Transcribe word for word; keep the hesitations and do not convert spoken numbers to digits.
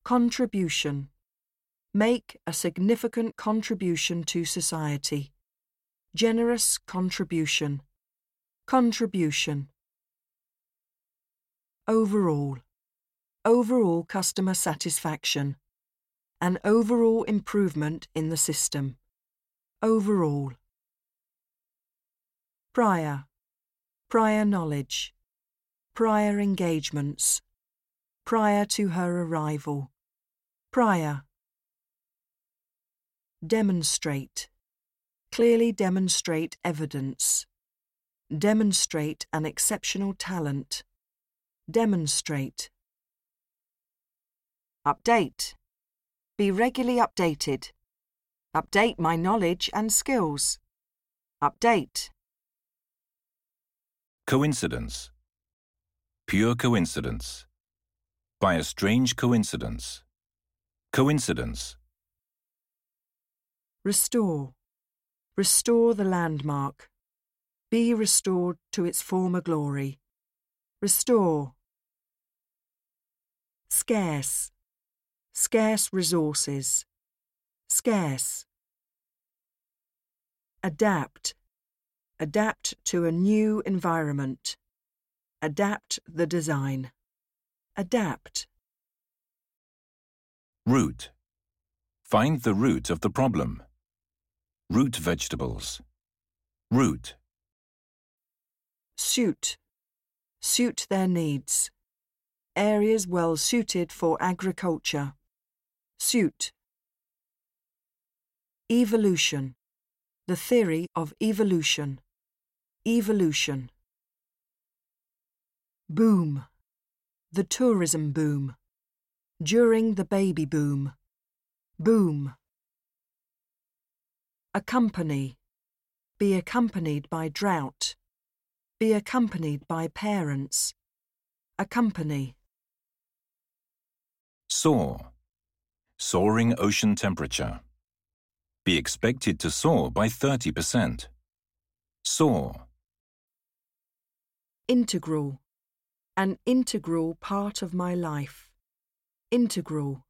Contribution. Make a significant contribution to society. Generous contribution. Contribution. Overall. Overall customer satisfaction. An overall improvement in the system. Overall. Prior. Prior knowledge. Prior engagements. Prior to her arrival. Prior. Demonstrate. Clearly demonstrate evidence. Demonstrate an exceptional talent. Demonstrate. Update. Be regularly updated. Update my knowledge and skills. Update. Coincidence. Pure coincidence. By a strange coincidence. Coincidence. Restore. Restore the landmark. Be restored to its former glory. Restore. Scarce. Scarce resources. Scarce. Adapt. Adapt to a new environment. Adapt the design. Adapt. Root. Find the root of the problem. Root vegetables. Root. Suit. Suit their needs. Areas well suited for agriculture. Suit. Evolution. The theory of evolution. Evolution. Boom. The tourism boom. During the baby boom. Boom. Accompany. Be accompanied by drought. Be accompanied by parents. Accompany. Soar. Soaring ocean temperature. Be expected to soar by thirty percent. Soar. Integral. An integral part of my life. Integral.